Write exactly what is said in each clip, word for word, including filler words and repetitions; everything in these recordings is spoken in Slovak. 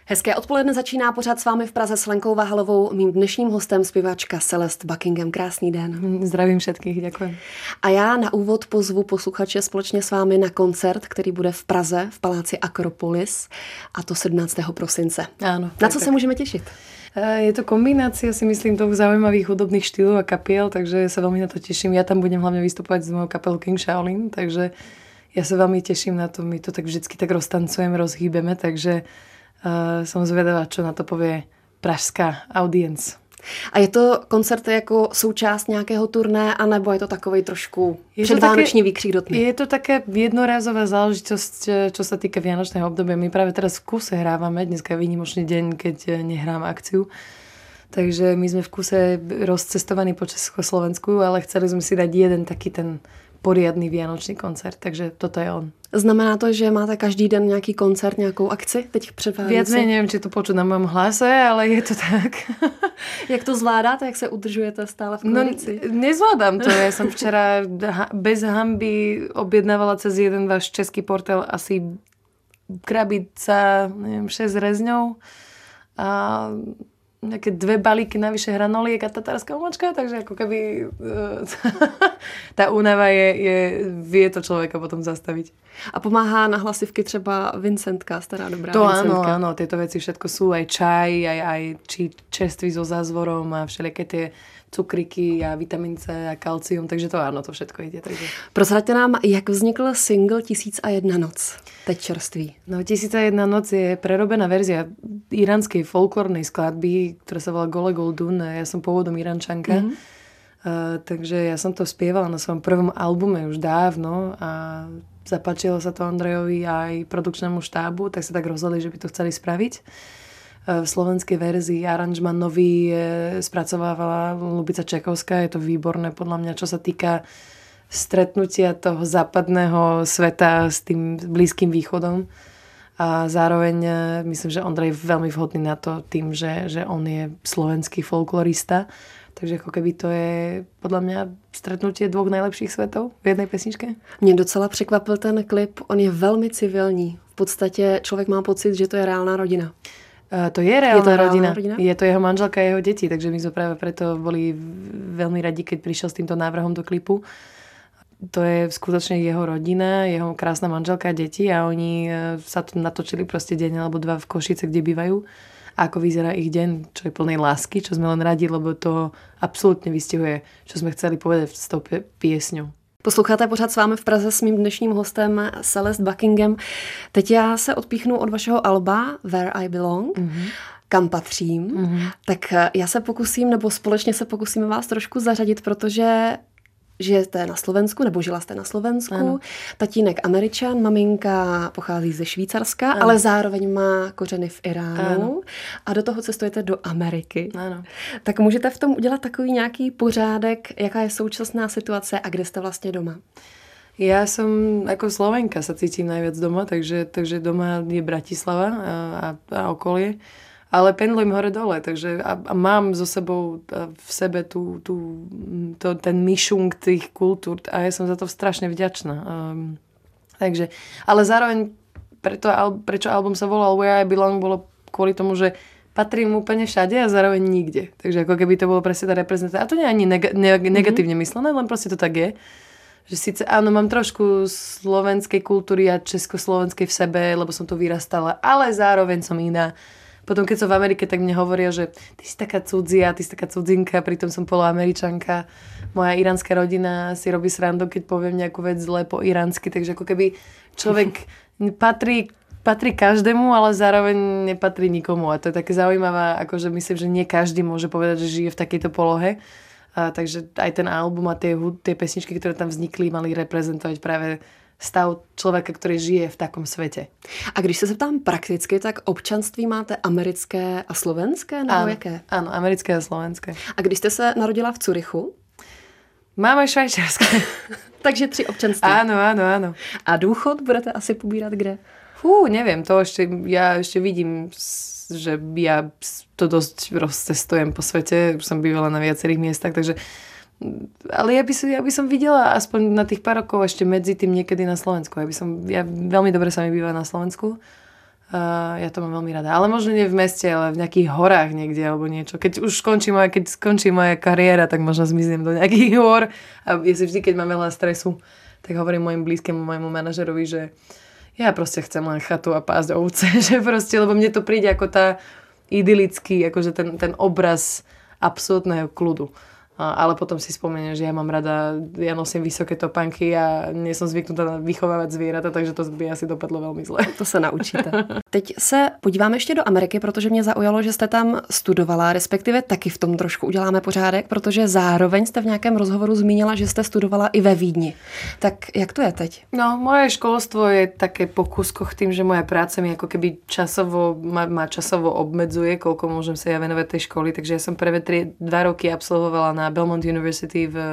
Hezké odpoledne, začíná pořád s vámi v Praze s Lenkou Vahalovou, mým dnešním hostem zpěvačka Celeste Buckingham. Krásný den. Zdravím všetkých, děkuji. A já na úvod pozvu posluchače společně s vámi na koncert, který bude v Praze v paláci Akropolis, a to sedmnáctého prosince. Áno. Na co tak, se můžeme těšit? Je to kombinácia, si myslím, toho zaujímavých hudobných štýlov a kapiel, takže sa veľmi na to teším. Ja tam budem hlavne vystupovať s mojou kapelou King Shaolin, takže ja sa veľmi teším na to. My to tak vždycky tak roztancujeme, rozhýbeme, takže uh, som zvedavá, čo na to povie pražská audience. A je to koncert jako součást nějakého turné, anebo je to takovej trošku předvánoční výkřik do tmy? Je to také jednorázová záležitosť, čo sa týka vianočného obdobia. My práve teraz v kuse hrávame, dneska je výnimočný deň, keď nehrám akciu. Takže my sme v kuse rozcestovaní po Československu, ale chceli sme si dať jeden taký ten poriadný vianočný koncert, takže toto je on. Znamená to, že máte každý den nějaký koncert, nějakou akci teď před Vánoci? Viac menej, neviem, či to počuť na mojom hlase, ale je to tak. Jak to zvládáte? Jak se udržujete stále v kondici? No, nezvládam to. Ja som včera bez hanby objednávala cez jeden váš český portál asi krabica, neviem, šesť rezňov a nejaké dve balíky navyše hranoliek a tatárska omáčka, takže ako keby tá únava je, je, vie to človeka potom zastaviť. A pomáhá na hlasivky třeba Vincentka, stará dobrá to Vincentka. To áno, áno, tieto veci všetko sú, aj čaj, aj, aj či čerstvý so zázvorom a všelijaké tie cukriky a vitamín C a kalcium, takže to áno, to všetko ide. Takže. Prozraďte nám, jak vznikl single Tisíc a jedna noc, teď čerstvý. No, Tisíc a jedna noc je prerobená verzia iránskej folklórnej skladby, ktorá sa volá Gole Goldun. Ja som pôvodom Iránčanka, mm-hmm. uh, takže ja som to spievala na svojom prvom albume už dávno a zapáčilo sa to Ondrejovi aj produkčnému štábu, tak sa tak rozhodli, že by to chceli spraviť. V slovenskej verzii aranžman nový spracovávala Lubica Čekovská. Je to výborné podľa mňa, čo sa týka stretnutia toho západného sveta s tým Blízkym východom. A zároveň myslím, že Ondrej je veľmi vhodný na to tým, že, že on je slovenský folklorista. Takže ako keby to je podľa mňa stretnutie dvoch najlepších svetov v jednej pesničke. Mě docela překvapil ten klip. On je velmi civilní. V podstatě člověk má pocit, že to je reálná rodina. Uh, to je reálna, je to reálna rodina. rodina. Je to jeho manželka a jeho deti, takže my sme práve preto boli veľmi radi, keď prišiel s týmto návrhom do klipu. To je skutočne jeho rodina, jeho krásna manželka a deti a oni sa tu natočili proste deň alebo dva v Košice, kde bývajú. A ako vyzerá ich deň, čo je plnej lásky, čo sme len radi, lebo to absolútne vystihuje, čo sme chceli povedať s tou piesňou. Posloucháte pořád s vámi v Praze s mým dnešním hostem Celeste Buckingham. Teď já se odpíchnu od vašeho alba Where I Belong, mm-hmm. kam patřím. Mm-hmm. Tak já se pokusím, nebo společně se pokusíme vás trošku zařadit, protože žijete na Slovensku, nebo žila jste na Slovensku. Ano. Tatínek Američan, maminka pochází ze Švýcarska, ano. ale zároveň má kořeny v Iránu. Ano. A do toho cestujete do Ameriky. Ano. Tak můžete v tom udělat takový nějaký pořádek, jaká je současná situace a kde jste vlastně doma? Ja som ako Slovenka sa cítim najviac doma, takže, takže doma je Bratislava a, a, a okolie. Ale pendlujem hore-dole, takže a, a mám so sebou v sebe tú, tú, to, ten myšung tých kultúr a ja som za to strašne vďačná. Um, takže, ale zároveň preto, prečo album sa volal Where I Belong, bolo kvôli tomu, že patrím úplne všade a zároveň nikde. Takže ako keby to bolo presne tá reprezentácia. A to nie je ani neg- neg- negatívne mm-hmm. myslené, len proste to tak je. Že síce áno, mám trošku slovenskej kultúry a československej v sebe, lebo som to vyrastala, ale zároveň som iná. Potom, keď som v Amerike, tak mne hovoria, že ty si taká cudzia, ty si taká cudzinka, pritom som poloameričanka. Moja iránska rodina si robí srandu, keď poviem nejakú vec zle po iránsky, takže ako keby človek patrí, patrí každému, ale zároveň nepatrí nikomu. A to je také zaujímavé, akože myslím, že nie každý môže povedať, že žije v takejto polohe. A takže aj ten album a tie, tie pesničky, ktoré tam vznikli, mali reprezentovať práve stav člověka, který žije v takom světě. A když se zeptám prakticky, tak občanství máte americké a slovenské, nebo ano, jaké? Ano, americké a slovenské. A když jste se narodila v Curychu? Máme švajčiarské. Takže tři občanství. Áno, áno, áno. A důchod budete asi pobírat kde? Fú, neviem, to ešte, ja ešte vidím, že ja to dosť rozcestujem po svete, už som bývala na viacerých miestach, takže ale ja by, som, ja by som videla aspoň na tých pár rokov ešte medzi tým niekedy na Slovensku. Ja, by som, ja veľmi dobre sa mi býva na Slovensku. Uh, ja to mám veľmi rada. Ale možno nie v meste, ale v nejakých horách niekde alebo niečo. Keď už skončí moja, keď skončí moja kariéra, tak možno zmiznem do nejakých hor. A ja si vždy, keď mám veľa stresu, tak hovorím mojim blízkému, mojemu manažerovi, že ja proste chcem len chatu a pásť ovce. Že proste, lebo mne to príde ako tá idylický, akože ten, ten obraz absolútneho kľudu. Ale potom si spomeniem, že ja mám rada, ja nosím vysoké topánky a nie som zvyknutá vychovávať zvieratá, takže to by asi dopadlo veľmi zle. To se naučíte. Teď se podíváme ještě do Ameriky, protože mě zaujalo, že jste tam studovala, respektive taky v tom trošku uděláme pořádek, protože zároveň jste v nějakém rozhovoru zmínila, že jste studovala i ve Vídni. Tak jak to je teď? No, moje školstvo je také po kúskoch tým, že moja práca mi ako keby časovo, ma, ma časovo obmedzuje, koľko môžem sa ja venovať tej školy, takže ja som prvé tri, dva roky absolvovala na Belmont University v,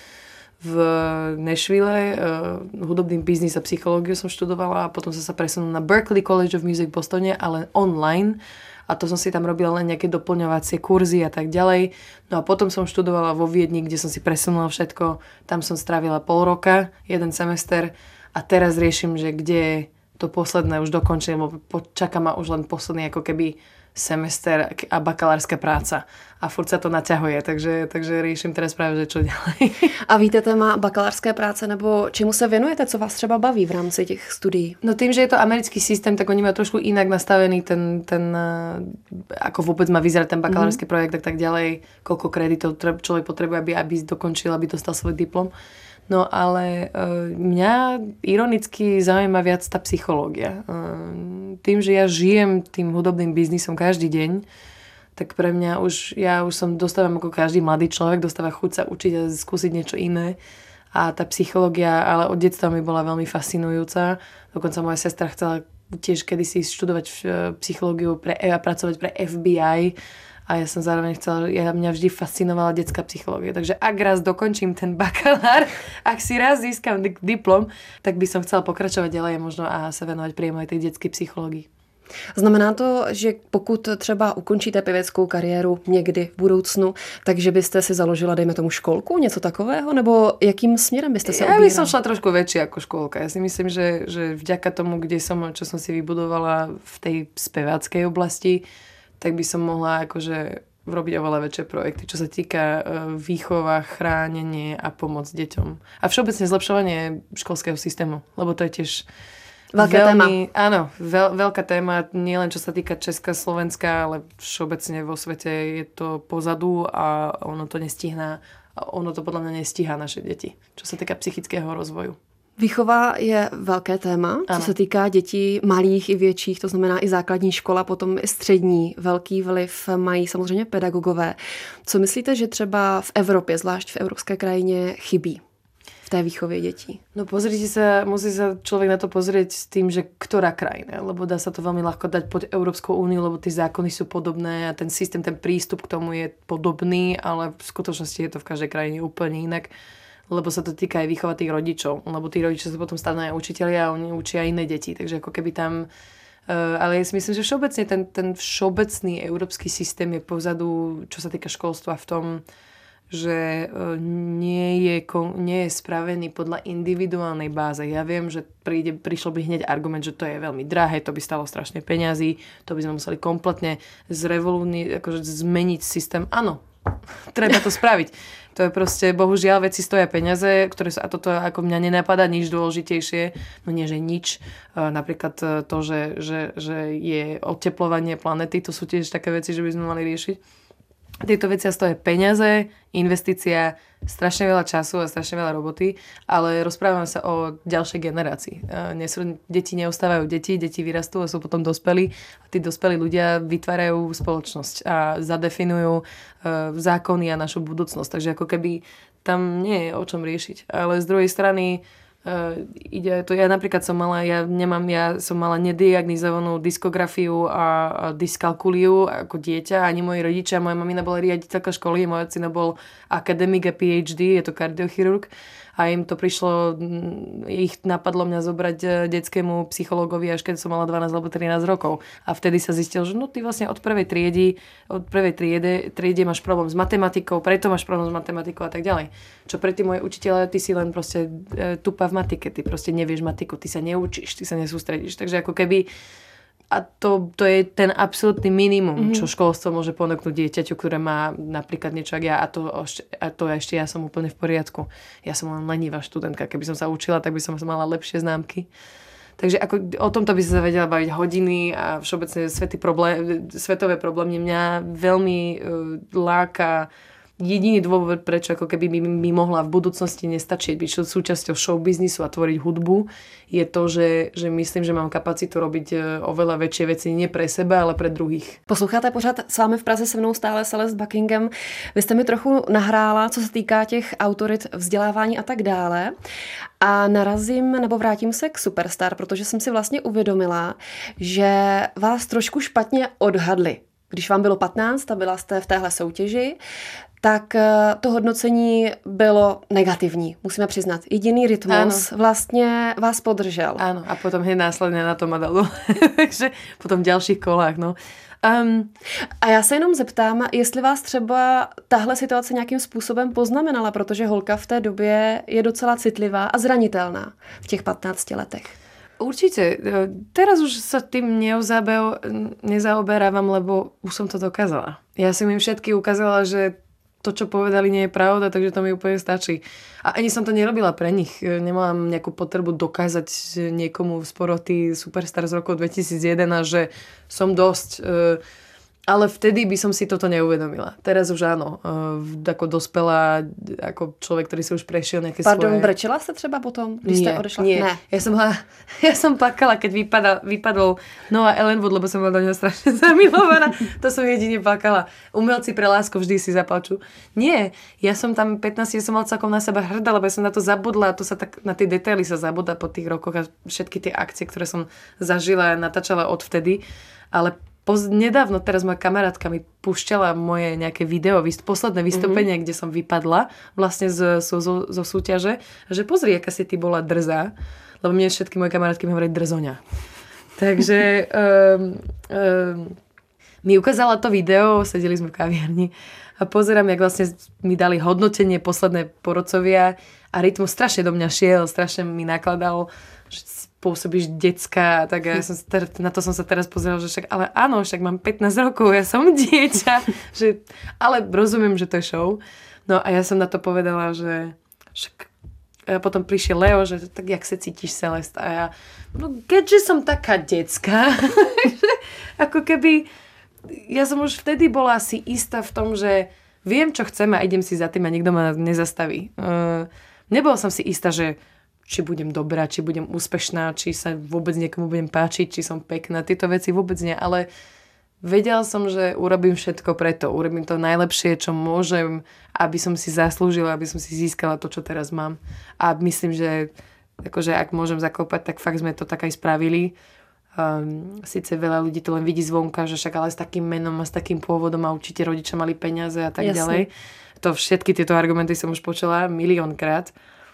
v Nashville. Uh, hudobný biznis a psychológiu som študovala a potom som sa presunula na Berklee College of Music v Bostone, ale online. A to som si tam robila len nejaké doplňovacie kurzy a tak ďalej. No a potom som študovala vo Viedni, kde som si presunula všetko. Tam som strávila pol roka, jeden semester a teraz riešim, že kde to posledné už dokončím, lebo čaká ma už len posledný ako keby semester a bakalárska práca. A furt sa to naťahuje, takže, takže riešim teraz práve, že čo ďalej. A víte téma bakalářské práce, nebo čemu se věnujete, co vás třeba baví v rámci těch studií? No tým, že je to americký systém, tak oni majú trošku inak nastavený ten, ten ako vôbec má vyzerať ten bakalársky mm-hmm. projekt a tak ďalej, koľko kreditov človek potrebuje, aby, aby dokončil, aby dostal svoj diplom. No ale uh, mňa ironicky zaujíma viac tá psychológia. Uh, tým, že ja žijem tým hudobným biznisom každý deň, tak pre mňa už, ja už som dostávam ako každý mladý človek, dostáva chuť sa učiť a skúsiť niečo iné. A tá psychológia, ale od detstva mi bola veľmi fascinujúca. Dokonca moja sestra chcela tiež kedysi študovať psychológiu pre, a pracovať pre F B I. A ja som zároveň chcela, ja, mňa vždy fascinovala detská psychológia. Takže ak raz dokončím ten bakalár, ak si raz získam diplom, tak by som chcela pokračovať ďalej možno a sa venovať priamo aj tej detskej psychológii. Znamená to, že pokud třeba ukončíte pěveckou kariéru někdy v budoucnu, takže byste si založila, dejme tomu, školku, něco takového? Nebo jakým směrem byste se ubírala? Ja by som šla trošku väčšie ako školka. Ja si myslím, že, že vďaka tomu, kde som, čo som si vybudovala v tej speváckej oblasti, tak by som mohla akože robiť oveľa väčšie projekty, čo sa týka výchova, chránenie a pomoc deťom. A všeobecne zlepšovanie školského systému, lebo to je tiež veľká veľmi, téma. Áno, veľ, veľká téma, nielen čo sa týka Česka, Slovenska, ale všeobecne vo svete je to pozadu a ono to nestihná. Ono to podľa mňa nestíhá naše deti, čo sa týka psychického rozvoju. Výchova je velké téma, co ano. se týká dětí malých i větších, to znamená i základní škola, potom i střední. Velký vliv mají samozřejmě pedagogové. Co myslíte, že třeba v Evropě, zvlášť v evropské krajině, chybí v té výchově dětí? No pozrite sa, musí sa človek na to pozrieť s tým, že ktorá krajina, lebo dá sa to veľmi ľahko dať pod Európskou úniu, lebo tie zákony sú podobné a ten systém, ten prístup k tomu je podobný, ale v skutočnosti je to v každej krajine úplne inak. Lebo sa to týka aj výchova tých rodičov, lebo tí rodičia sa potom stanú aj učitelia a oni učia iné deti, takže ako keby tam, uh, ale ja si myslím, že všeobecne ten, ten všeobecný európsky systém je pozadu, čo sa týka školstva v tom, že uh, nie, je, nie je spravený podľa individuálnej báze. Ja viem, že príde, prišlo by hneď argument, že to je veľmi drahé, to by stalo strašne peňazí, to by sme museli kompletne zrevolúni, akože zmeniť systém. Áno, treba to spraviť. To je proste, bohužiaľ, veci stoja peniaze, ktoré sa, a toto ako mňa nenapadá nič dôležitejšie, no nie, že nič. Napríklad to, že, že, že je oteplovanie planety, to sú tiež také veci, že by sme mali riešiť. Tieto veci stoja peniaze, investícia, strašne veľa času a strašne veľa roboty, ale rozprávame sa o ďalšej generácii. Deti neostávajú deti, deti vyrastú a sú potom dospelí a tí dospelí ľudia vytvárajú spoločnosť a zadefinujú zákony a našu budúcnosť. Takže ako keby tam nie je o čom riešiť. Ale z druhej strany Uh, ide to, ja napríklad som mala, ja nemám, ja som mala nediagnizovanú diskografiu a, a dyskalkuliu ako dieťa, ani moji rodičia, moja mamina bola riaditeľka školy, môj ocino bol akademik a PhD, je to kardiochirurg a im to prišlo, ich napadlo mňa zobrať detskému psychológovi, až keď som mala dvanásť alebo trinásť rokov. A vtedy sa zistil, že no ty vlastne od prvej triedy, od prvej triede, triede máš problém s matematikou, preto máš problém s matematikou a tak ďalej. Čo pre tí moje učiteľe, ty si len proste e, tupa v matike, ty proste nevieš matiku, ty sa neučíš, ty sa nesústredíš. Takže ako keby a to, to je ten absolútny minimum, mm-hmm. čo školstvo môže ponúknuť dieťaťu, ktoré má napríklad niečo ako ja a to, a to ešte ja som úplne v poriadku. Ja som len lenivá študentka. Keby som sa učila, tak by som mala lepšie známky. Takže ako, o tomto by sa vedela baviť hodiny a všeobecne svety problém, svetové problémy mňa veľmi uh, láka. Jediný dôvod, prečo ako keby by mi mohla v budúcnosti nestačiť byť súčasťou show biznisu a tvoriť hudbu, je to, že, že myslím, že mám kapacitu robiť oveľa väčšie veci nie pre seba, ale pre druhých. Posloucháte pořád s vámi v Praze se mnou stále Celeste Buckingham. Vy jste mi trochu nahrála, co se týká těch autorit, vzdělávání a tak dále. A narazím nebo vrátím se k Superstar, protože jsem si vlastně uvědomila, že vás trošku špatně odhadli. Když vám bylo patnáct a byla jste v téhle soutěži, tak to hodnocení bylo negativní, musíme přiznat. Jediný Rytmus ano. vlastně vás podržel. Áno, a potom hneď následně na to ma dalo. Takže potom v ďalších kolách, no. Um, a já se jenom zeptám, jestli vás třeba tahle situace nějakým způsobem poznamenala, protože holka v té době je docela citlivá a zranitelná v těch patnácti letech. Určite. Teraz už sa tým nezaoberávam, lebo už som to dokázala. Ja som im všetky ukázala, že to, čo povedali, nie je pravda, takže to mi úplne stačí. A ani som to nerobila pre nich. Nemám nejakú potrebu dokázať niekomu z poroty Superstar z roku dvetisíc jedenásť, že som dosť... Ale vtedy by som si toto neuvedomila. Teraz už áno. Ako dospelá, ako človek, ktorý si už prešiel nejaké Pardon, svoje... Pardon, brečela ste třeba potom, když nie, ste odešla? Nie, ne. Ja som, hla, ja som plakala, keď vypadal, vypadol Noah Ellenwood, lebo som bola do neho strašne zamilovaná. To som jedine plakala. Umelci pre lásku vždy si zaplačú. Nie, ja som tam pätnásť, ja som mal celkom na seba hrdá, lebo ja som na to zabudla. To sa tak, na tie detaily sa zabudla po tých rokoch a všetky tie akcie, ktoré som zažila a natáčala odvtedy. Ale Poz, nedávno teraz moja kamarátka mi púšťala moje nejaké video, posledné vystúpenie, mm-hmm. kde som vypadla vlastne z, zo, zo, zo súťaže, že pozri, aká si ty bola drzá, lebo mne všetky moje kamarátky mi hovorí drzoňa. Takže um, um, mi ukázala to video, sedeli sme v kaviarni a pozerám, jak vlastne mi dali hodnotenie posledné porodcovia a Rytmus strašne do mňa šiel, strašne mi nakladal, že pôsobíš decka, tak ja som ter- na to som sa teraz pozerala, že však, ale áno, však mám pätnásť rokov, ja som dieťa, že, ale rozumiem, že to je show. No a ja som na to povedala, že však a potom prišiel Leo, že tak jak sa cítiš, Celeste? A ja, no keďže som taká decka, ako keby, ja som už vtedy bola si istá v tom, že viem, čo chcem a idem si za tým a nikto ma nezastaví. Uh, nebola som si istá, že či budem dobrá, či budem úspešná, či sa vôbec niekomu budem páčiť, či som pekná. Tieto veci vôbec nie, ale vedela som, že urobím všetko preto. Urobím to najlepšie, čo môžem, aby som si zaslúžila, aby som si získala to, čo teraz mám. A myslím, že akože ak môžem zaklopať, tak fakt sme to tak aj spravili. Um, Sice veľa ľudí to len vidí zvonka, že však ale s takým menom a s takým pôvodom a určite rodičia mali peniaze a tak Jasne. ďalej. To všetky tieto argumenty som už počula miliónkrát.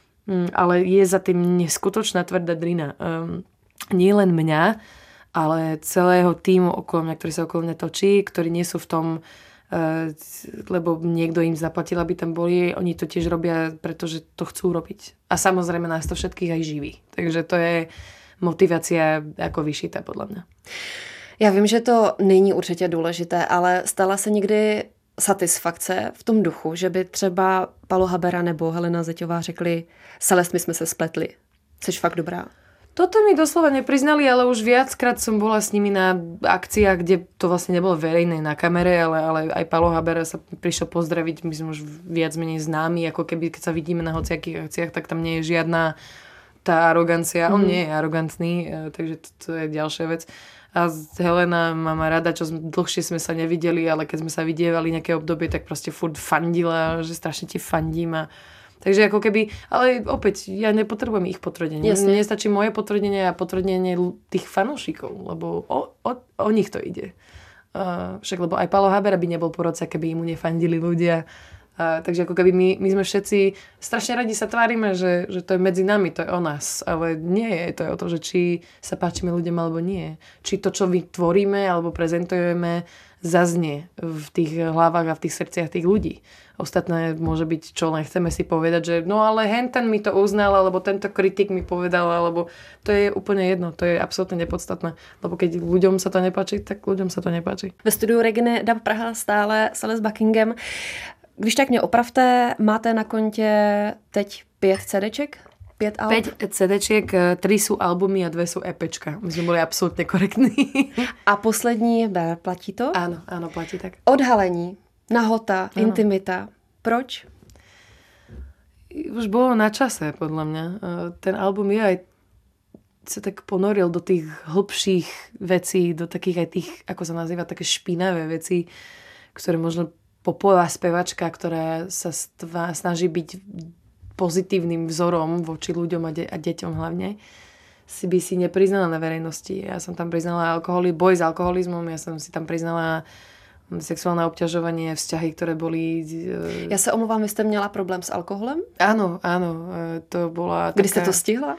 Ale je za tým neskutočná tvrdá drina. Um, nie len mňa, ale celého týmu okolo mňa, ktorý sa okolo mňa točí, ktorí nie sú v tom, uh, lebo niekto im zaplatil, aby tam boli. Oni to tiež robia, pretože to chcú robiť. A samozrejme nás to všetkých aj živí. Takže to je motivácia ako vyšitá podľa mňa. Já vím, že to není určitě důležité, ale stala se někdy satisfakce v tom duchu, že by třeba Palo Habera nebo Helena Zeťová řekli Celeste, my jsme se spletli. Jsi fakt dobrá. Toto mi doslova nepriznali, ale už viackrát som bola s nimi na akciách, kde to vlastne nebolo verejné na kamere, ale, ale aj Palo Habera sa prišiel pozdraviť, my sme už viac menej známi, ako keby keď sa vidíme na hociakých akciách, tak tam nie je žiadna tá arogancia. Mm. On nie je arogantný, takže to, to je ďalšia vec. A Helena má ma rada, čo sme, dlhšie sme sa nevideli, ale keď sme sa vidievali nejaké obdobie, tak proste furt fandila, že strašne ti fandím. A... Takže ako keby, ale opäť, ja nepotrebujem ich potvrdenie. Jasne. Mne stačí moje potvrdenie a potvrdenie tých fanúšikov, lebo o, o, o nich to ide. Uh, však lebo aj Palo Habera by nebol porodca, keby mu nefandili ľudia. Uh, takže ako keby my, my sme všetci strašne radi sa tvárime, že, že to je medzi nami, to je o nás. Ale nie je. To je o to, že či sa páčime ľuďom alebo nie. Či to, čo vytvoríme alebo prezentujeme, zaznie v tých hlavách a v tých srdciach tých ľudí. Ostatné môže byť, čo len chceme si povedať, že no ale henten mi to uznal, alebo tento kritik mi povedal, alebo to je úplne jedno, to je absolútne nepodstatné. Lebo keď ľuďom sa to nepáči, tak ľuďom sa to nepáči. Ve studiu Reginy Dub Praha stále Celeste Buckingham. Když tak mě opravte, máte na kontě teď pět CDček? Pět alb? Päť CDčiek, tri sú albumy a dve sú EPčka. My sme boli absolútne korektní. A poslední B, platí to? Áno, áno, platí tak. Odhalení, nahota, ano. Intimita. Proč? Už bolo na čase, podľa mňa. Ten album je aj sa tak ponoril do tých hlbších vecí, do takých aj tých, ako sa nazýva, také špinavé veci, ktoré možno popová spevačka, ktorá sa stva, snaží byť pozitívnym vzorom voči ľuďom a, de- a deťom hlavne, si by si nepriznala na verejnosti. Ja som tam priznala alkoholi, boj s alkoholizmom, ja som si tam priznala sexuálne obťažovanie, vzťahy, ktoré boli... Uh... Ja sa omluvám, vy ste měla problém s alkoholem? Áno, áno, to bola Kdy taká... ste to stihla?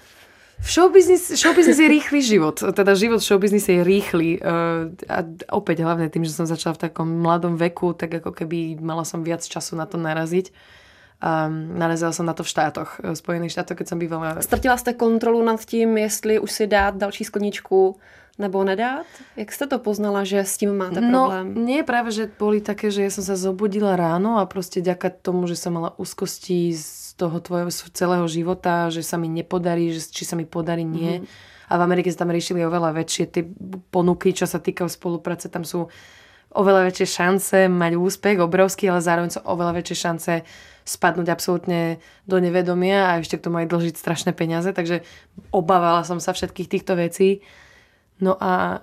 Showbiznis, showbiznis je rýchly život. Teda život v showbiznise je rýchly. A opäť hlavne tým, že som začala v takom mladom veku, tak ako keby mala som viac času na to naraziť. A narazila som na to v štátoch, v Spojených štátoch, keď som bývala. Ztratila jste kontrolu nad tím, jestli už si dát další skleničku nebo nedát? Jak jste to poznala, že s tím máte problém? No, nie, práve, že boli také, že ja som sa zobudila ráno a proste ďaká tomu, že som mala úzkosti z toho tvojho celého života, že sa mi nepodarí, že či sa mi podarí, nie. Mm-hmm. A v Amerike sa tam riešili oveľa väčšie tie ponuky, čo sa týka spolupráce. Tam sú oveľa väčšie šance mať úspech, obrovský, ale zároveň sú oveľa väčšie šance spadnúť absolútne do nevedomia a ešte k tomu aj dlžiť strašné peniaze. Takže obávala som sa všetkých týchto vecí. No a,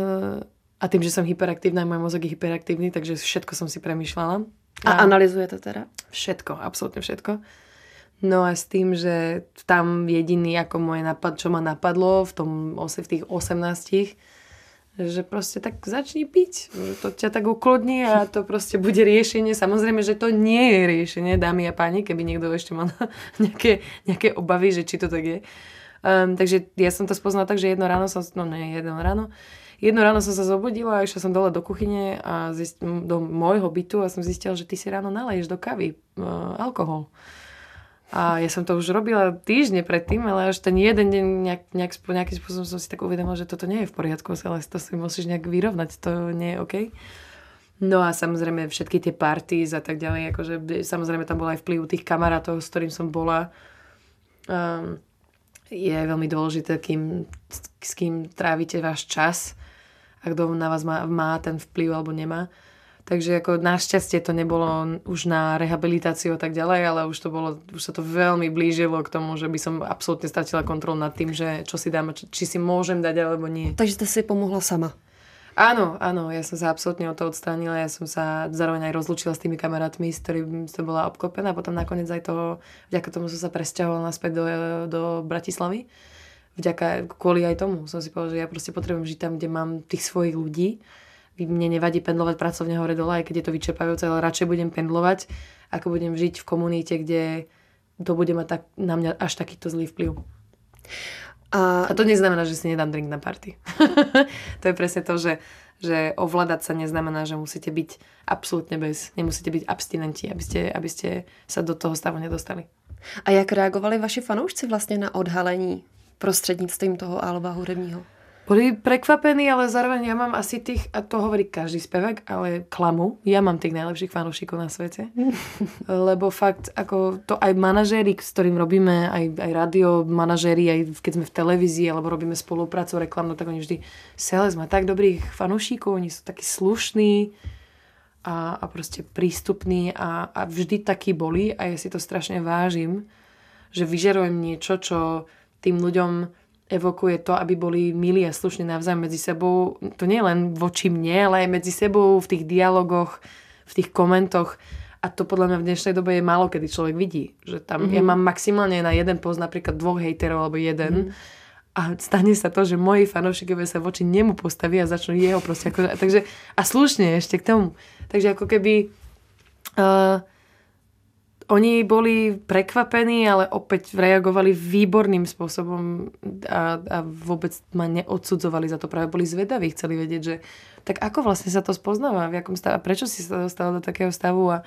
a tým, že som hyperaktívna, môj mozog je hyperaktívny, takže všetko som si premýšľala. A, a analyzujete teda? Všetko, absolútne všetko. No a s tým, že tam jediný, ako moje napad, čo ma napadlo v tom v tých osemnástich, že proste tak začni piť. To ťa tak uklodní a to proste bude riešenie. Samozrejme, že to nie je riešenie, dámy a páni, keby niekto ešte mal nejaké, nejaké obavy, že či to tak je. Um, takže ja som to spoznala tak, že jedno ráno som, no nie, jedno ráno, jedno ráno som sa zobudila a išla som dole do kuchyne a zist, do môjho bytu a som zistila, že ty si ráno naleješ do kávy uh, alkohol. A ja som to už robila týždne predtým, ale až ten jeden deň nejak, nejak, nejakým spôsobom som si tak uvedomila, že toto nie je v poriadku, ale to si musíš nejak vyrovnať, to nie je OK. No a samozrejme všetky tie parties a tak ďalej, akože samozrejme tam bol aj vplyv tých kamarátov, s ktorým som bola. Um, je veľmi dôležité, kým, s kým trávite váš čas a kto na vás má, má ten vplyv alebo nemá. Takže ako našťastie to nebolo už na rehabilitáciu a tak ďalej, ale už to bolo, už sa to veľmi blížilo k tomu, že by som absolútne stratila kontrolu nad tým, že čo si dám, či si môžem dať alebo nie. Takže ste si pomohla sama? Áno, áno, ja som sa absolútne od toho odstránila, ja som sa zároveň aj rozlúčila s tými kamarátmi, s ktorými som bola obklopená a potom nakoniec aj toho, vďaka tomu som sa presťahovala naspäť do, do Bratislavy. Vďaka, kvôli aj tomu som si povedala, že ja proste potrebujem žiť tam, kde mám tých svojich ľudí. Mne nevadí pendlovať pracovne hore dole, aj keď je to vyčerpávajúce, ale radšej budem pendlovať, ako budem žiť v komunite, kde to bude mať tak, na mňa až takýto zlý vplyv. A, a to neznamená, že si nedám drink na party. To je presne to, že, že ovládať sa neznamená, že musíte byť absolútne bez, nemusíte byť abstinenti, aby ste, aby ste sa do toho stavu nedostali. A jak reagovali vaši fanoušci vlastně na odhalení prostřednictvím toho alba hudebního? Boli prekvapení, ale zároveň ja mám asi tých, a to hovorí každý spevák, ale klamu. Ja mám tých najlepších fanúšikov na svete. Lebo fakt, ako to aj manažéri, s ktorým robíme, aj, aj radio manažéri, aj keď sme v televízii, alebo robíme spoluprácu reklamnú, tak oni vždy Celeste má tak dobrých fanúšikov, oni sú takí slušní a, a proste prístupní a, a vždy takí boli a ja si to strašne vážim, že vyžarujem niečo, čo tým ľuďom evokuje to, aby boli milí a slušní navzájom medzi sebou. To nie len voči mne, ale aj medzi sebou v tých dialogoch, v tých komentoch. A to podľa mňa v dnešnej dobe je málo, kedy človek vidí. Že tam, mm-hmm. ja mám maximálne na jeden post napríklad dvoch hejterov alebo jeden. Mm-hmm. A stane sa to, že moji fanúšikovia sa voči nemu postavia a začnú jeho proste. Ako, takže, a slušne ešte k tomu. Takže ako keby Uh, oni boli prekvapení, ale opäť reagovali výborným spôsobom a, a vôbec ma neodsudzovali za to. Práve boli zvedaví, chceli vedieť, že tak ako vlastne sa to spoznáva, v jakom stave, a prečo si sa dostala do takého stavu a,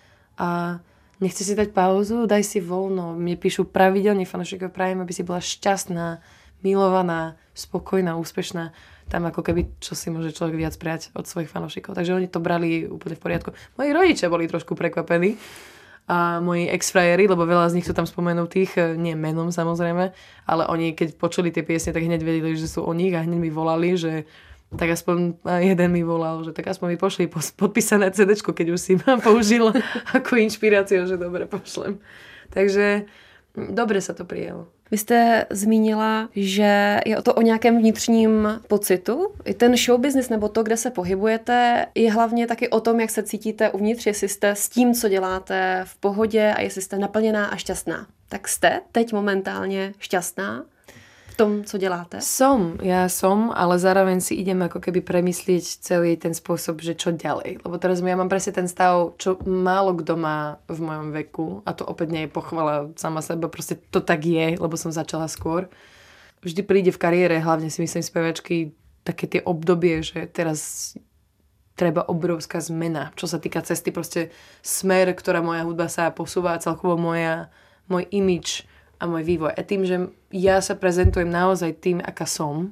a nechce si dať pauzu, daj si voľno. Mne píšu pravidelne fanúšikovia, prajem, aby si bola šťastná, milovaná, spokojná, úspešná. Tam ako keby, čo si môže človek viac prijať od svojich fanúšikov. Takže oni to brali úplne v poriadku. Moji rodičia boli trošku prekvapení a moji ex-frajeri, lebo veľa z nich sú tam spomenutých, nie menom samozrejme, ale oni keď počuli tie piesne, tak hneď vedeli, že sú o nich a hneď mi volali, že tak aspoň jeden mi volal, že tak aspoň mi pošli podpísané cé déčko, keď už si ma použil ako inšpiráciu, že dobre, pošlem. Takže dobre sa to prijelo. Vy jste zmínila, že je to o nějakém vnitřním pocitu. I ten show business nebo to, kde se pohybujete, je hlavně taky o tom, jak se cítíte uvnitř, jestli jste s tím, co děláte, v pohodě a jestli jste naplněná a šťastná. Tak jste teď momentálně šťastná v tom, co děláte? Som, ja som, ale zároveň si idem ako keby premyslieť celý ten spôsob, že čo ďalej. Lebo teraz ja mám presne ten stav, čo málo kto má v mojom veku, a to opäť nie je pochvala sama seba, proste to tak je, lebo som začala skôr. Vždy príde v kariére, hlavne si myslím spevačky, také tie obdobie, že teraz treba obrovská zmena, čo sa týka cesty, proste smer, ktorá moja hudba sa posúva, celkovo moja, môj imidž a môj vývoj. A tým, že ja sa prezentujem naozaj tým, aká som,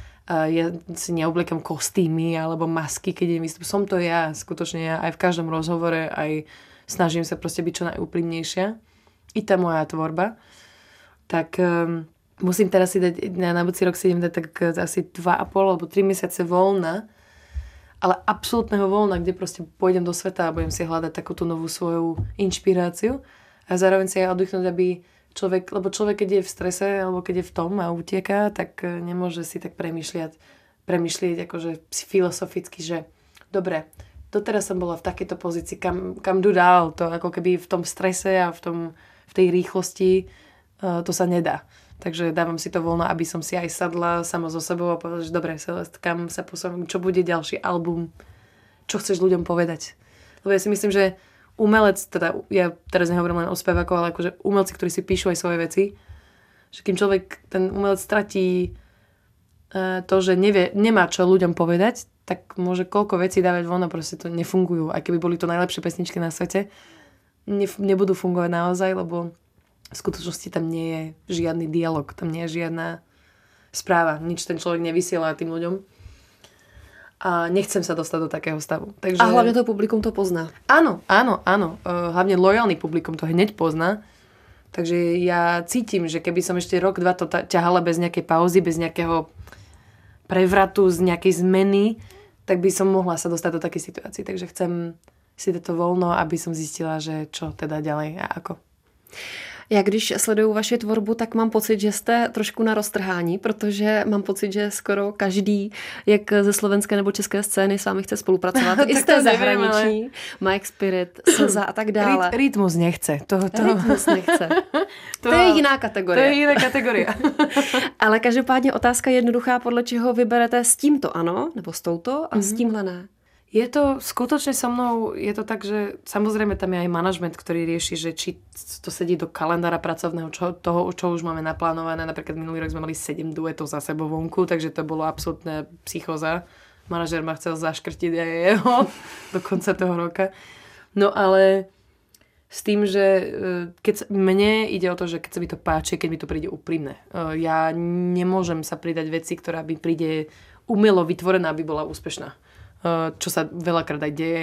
ja si neobliekam kostýmy alebo masky, keď idem vystupovať. Som to ja, skutočne ja, aj v každom rozhovore, aj snažím sa proste byť čo najúprimnejšia. I tá moja tvorba. Tak um, musím teraz si dať, na, na budúci rok si idem dať tak asi dva a pol alebo tri mesiace voľna, ale absolútneho voľna, kde proste pôjdem do sveta a budem si hľadať takú tú novú svoju inšpiráciu a zároveň si aj oddychnúť, aby človek, lebo človek, keď je v strese alebo keď je v tom a utieká, tak nemôže si tak premýšľať, premýšľať akože filozoficky, že dobre, doteraz som bola v takejto pozícii, kam, kam jdu dál, to ako keby v tom strese a v, tom, v tej rýchlosti uh, to sa nedá. Takže dávam si to voľno, aby som si aj sadla sama so sebou a povedala, že dobre, Celest, kam sa posúvam, čo bude ďalší album, čo chceš ľuďom povedať. Lebo ja si myslím, že umelec, teda ja teraz nehovorím len o spevákoch, ale akože umelci, ktorí si píšu aj svoje veci, že kým človek, ten umelec stratí uh, to, že nevie, nemá čo ľuďom povedať, tak môže koľko vecí dávať von a proste to nefungujú. Aj keby boli to najlepšie pesničky na svete, ne, nebudú fungovať naozaj, lebo v skutočnosti tam nie je žiadny dialog, tam nie je žiadna správa, nič ten človek nevysiela tým ľuďom. A nechcem sa dostať do takého stavu. Takže... A hlavne to publikum to pozná. Áno, áno, áno. Uh, hlavne lojálny publikum to hneď pozná. Takže ja cítim, že keby som ešte rok, dva to ťahala bez nejakej pauzy, bez nejakého prevratu, z nejakej zmeny, tak by som mohla sa dostať do takej situácii. Takže chcem si dať to voľno, aby som zistila, že čo teda ďalej a ako. Já když sleduju vaši tvorbu, tak mám pocit, že jste trošku na roztrhání, protože mám pocit, že skoro každý, jak ze slovenské nebo české scény, s vámi chce spolupracovat. I z té zahraniční, ale... Mike Spirit, Slza a tak dále. Ryt, rytmus nechce. To, to... Rytmus nechce. To, to je jiná kategorie. To je jiná kategorie. Ale každopádně otázka jednoduchá, podle čeho vyberete s tímto ano, nebo s touto a mm-hmm. s tímhle ne. Je to skutočne so mnou, je to tak, že samozrejme tam je aj manažment, ktorý rieši, že či to sedí do kalendára pracovného, čo, toho, čo už máme naplánované. Napríklad minulý rok sme mali sedem duetov za sebou vonku, takže to bolo absolútne psychóza. Manažer ma chcel zaškrtiť aj jeho do konca toho roka. No ale s tým, že keď mne ide o to, že keď sa mi to páči, keď mi to príde úprimné. Ja nemôžem sa pridať veci, ktorá by príde umelo vytvorená, aby bola úspešná. Čo sa veľakrát aj deje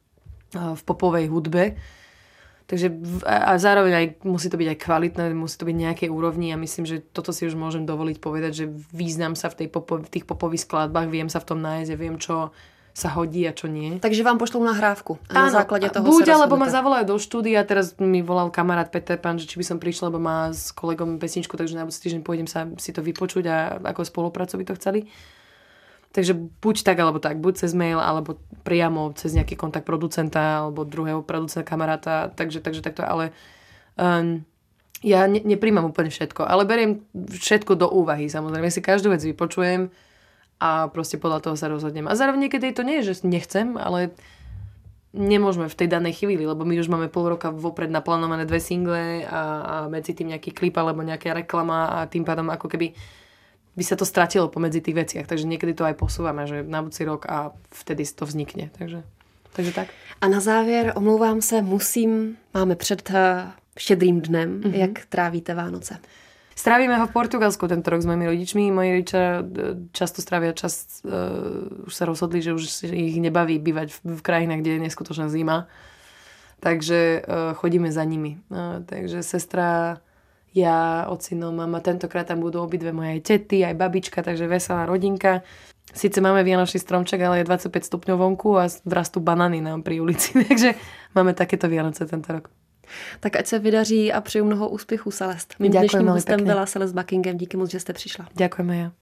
v popovej hudbe. Takže a zároveň aj musí to byť aj kvalitné, musí to byť nejakej úrovni a myslím, že toto si už môžem dovoliť povedať, že význam sa v, tej popo, v tých popových skladbách, viem sa v tom nájsť a viem, čo sa hodí a čo nie. Takže vám pošlú nahrávku a na základe toho buď, sa alebo ma zavolajú do štúdia, teraz mi volal kamarát Peter Pan, že či by som prišla, lebo má s kolegom pesničku, takže na budúci týždeň pôjdem sa si to vypočuť a ako spoluprácu by to chceli. Takže buď tak, alebo tak. Buď cez mail, alebo priamo cez nejaký kontakt producenta, alebo druhého producenta, kamaráta. Takže, takže takto. Ale um, ja ne, nepríjmam úplne všetko. Ale beriem všetko do úvahy, samozrejme. Ja si každú vec vypočujem a proste podľa toho sa rozhodnem. A zároveň niekedy to nie je, že nechcem, ale nemôžeme v tej danej chvíli, lebo my už máme pol roka vopred naplánované dve single a, a medzi tým nejaký klip alebo nejaká reklama a tým pádom ako keby by sa to stratilo pomedzi tých veciach. Takže niekedy to aj posúvame, že na budúci rok a vtedy to vznikne. Takže, takže tak. A na závěr, omlouvám se, musím, máme před štědrým dnem, mm-hmm. jak trávíte Vánoce? Strávime ho v Portugalsku tento rok s mojimi rodičmi. Moji rodičia často strávia čas, uh, už sa rozhodli, že už ich nebaví bývať v, v krajinách, kde je neskutočná zima. Takže uh, chodíme za nimi. Uh, takže sestra, ja, ocino, mama, tentokrát tam budú obidve moje tety, aj babička, takže veselá rodinka. Sice máme vianočný stromček, ale je dvadsaťpäť stupňov vonku a rastú banány nám pri ulici. Takže máme takéto Vianoce tento rok. Tak ať se vydaří a přeju mnoho úspěchů, Celest. Mým dnešním hostem byla Celest Buckingham. Díky moc, že jste přišla. Ďakujeme, ja.